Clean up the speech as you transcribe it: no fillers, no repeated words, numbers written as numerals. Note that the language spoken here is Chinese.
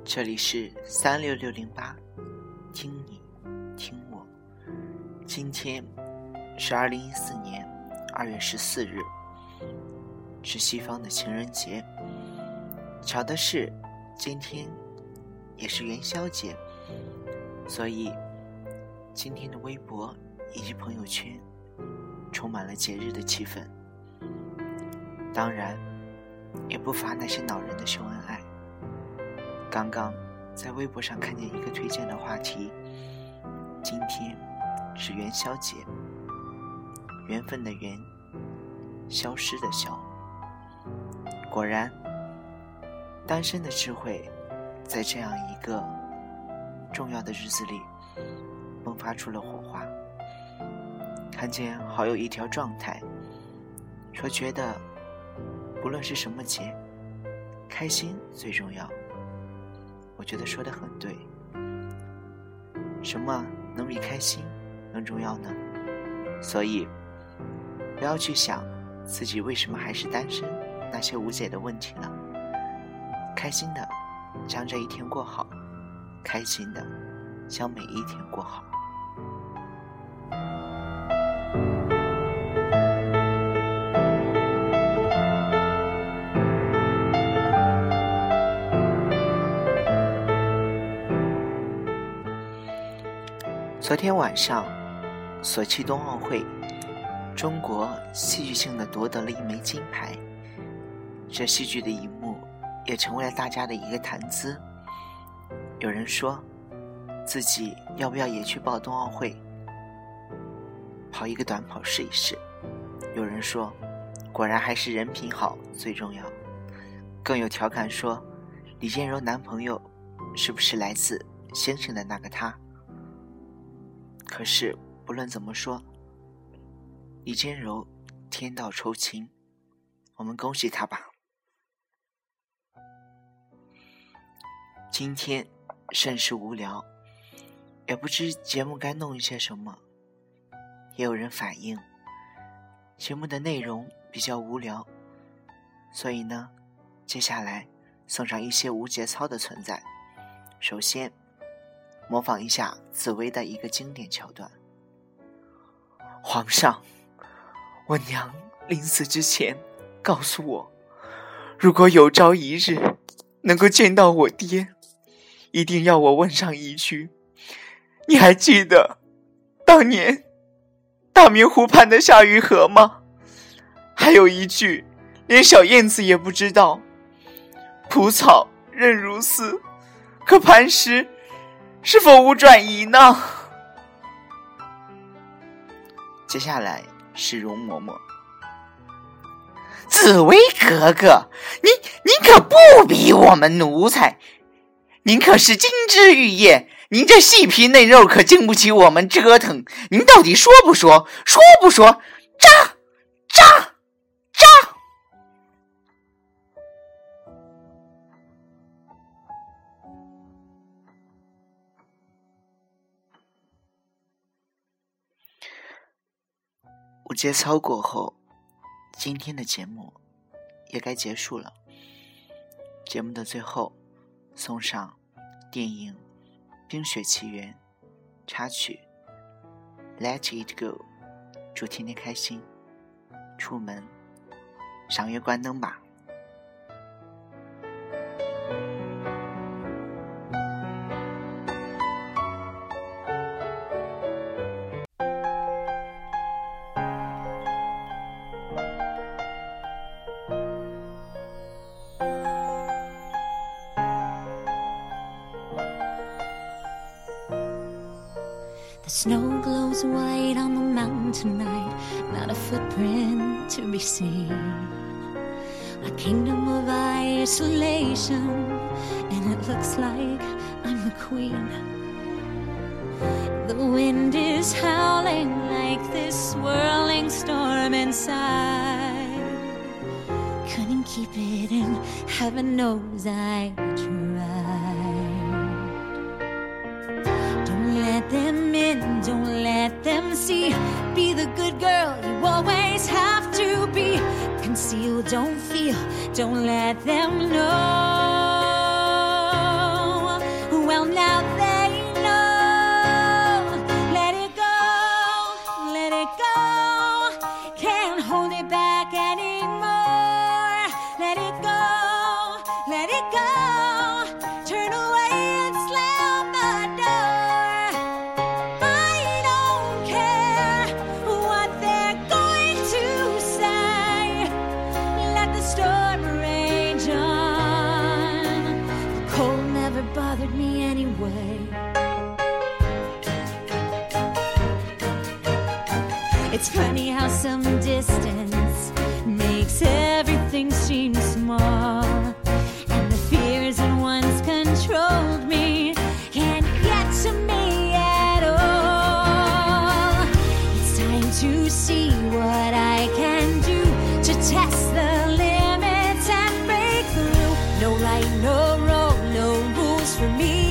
这里是36608，听你听我。今天是2014年2月14日，是西方的情人节。巧的是，今天也是元宵节，所以今天的微博以及朋友圈充满了节日的气氛。当然，也不乏那些恼人的秀恩爱。刚刚在微博上看见一个推荐的话题，今天是元宵节，缘分的缘，消失的消。果然，单身的智慧在这样一个重要的日子里迸发出了火花。看见好友一条状态，说觉得不论是什么节，开心最重要。我觉得说得很对，什么能比开心更重要呢？所以不要去想自己为什么还是单身那些无解的问题了，开心的将这一天过好，开心的将每一天过好。昨天晚上，索契冬奥会，中国戏剧性地夺得了一枚金牌。这戏剧的一幕也成为了大家的一个谈资。有人说，自己要不要也去报冬奥会，跑一个短跑试一试。有人说，果然还是人品好最重要。更有调侃说，李健柔男朋友是不是来自先生的那个他？可是不论怎么说，李健柔天道酬勤，我们恭喜他吧。今天甚是无聊，也不知节目该弄一些什么。也有人反映节目的内容比较无聊，所以呢，接下来送上一些无节操的存在。首先模仿一下紫薇的一个经典桥段。皇上，我娘临死之前告诉我，如果有朝一日能够见到我爹，一定要我问上一句，你还记得当年大明湖畔的夏雨荷吗？还有一句连小燕子也不知道，蒲草韧如丝，可磐石是否无转移呢？接下来是容嬷嬷。 紫薇格格，您可不比我们奴才，您可是金枝玉叶，您这细皮嫩肉可经不起我们折腾。您到底说不说？说不说？扎！ 无节操过后，今天的节目也该结束了。节目的最后，送上电影《冰雪奇缘》插曲 Let It Go， 祝天天开心，出门赏月关灯吧。 The snow glows white on the mountain tonight, not a footprint to be seen. A kingdom of isolation, and it looks like I'm the queen. The wind is howling like this swirling storm inside. Couldn't keep it in, heaven knows I tried. Let them in, don't let them see. Be the good girl you always have to be. Conceal, don't feel, don't let them know. It's funny how some distance makes everything seem small, and the fears that once controlled me can't get to me at all. It's time to see what I can do to test the limits and break through. No right, no wrong, no rules for me.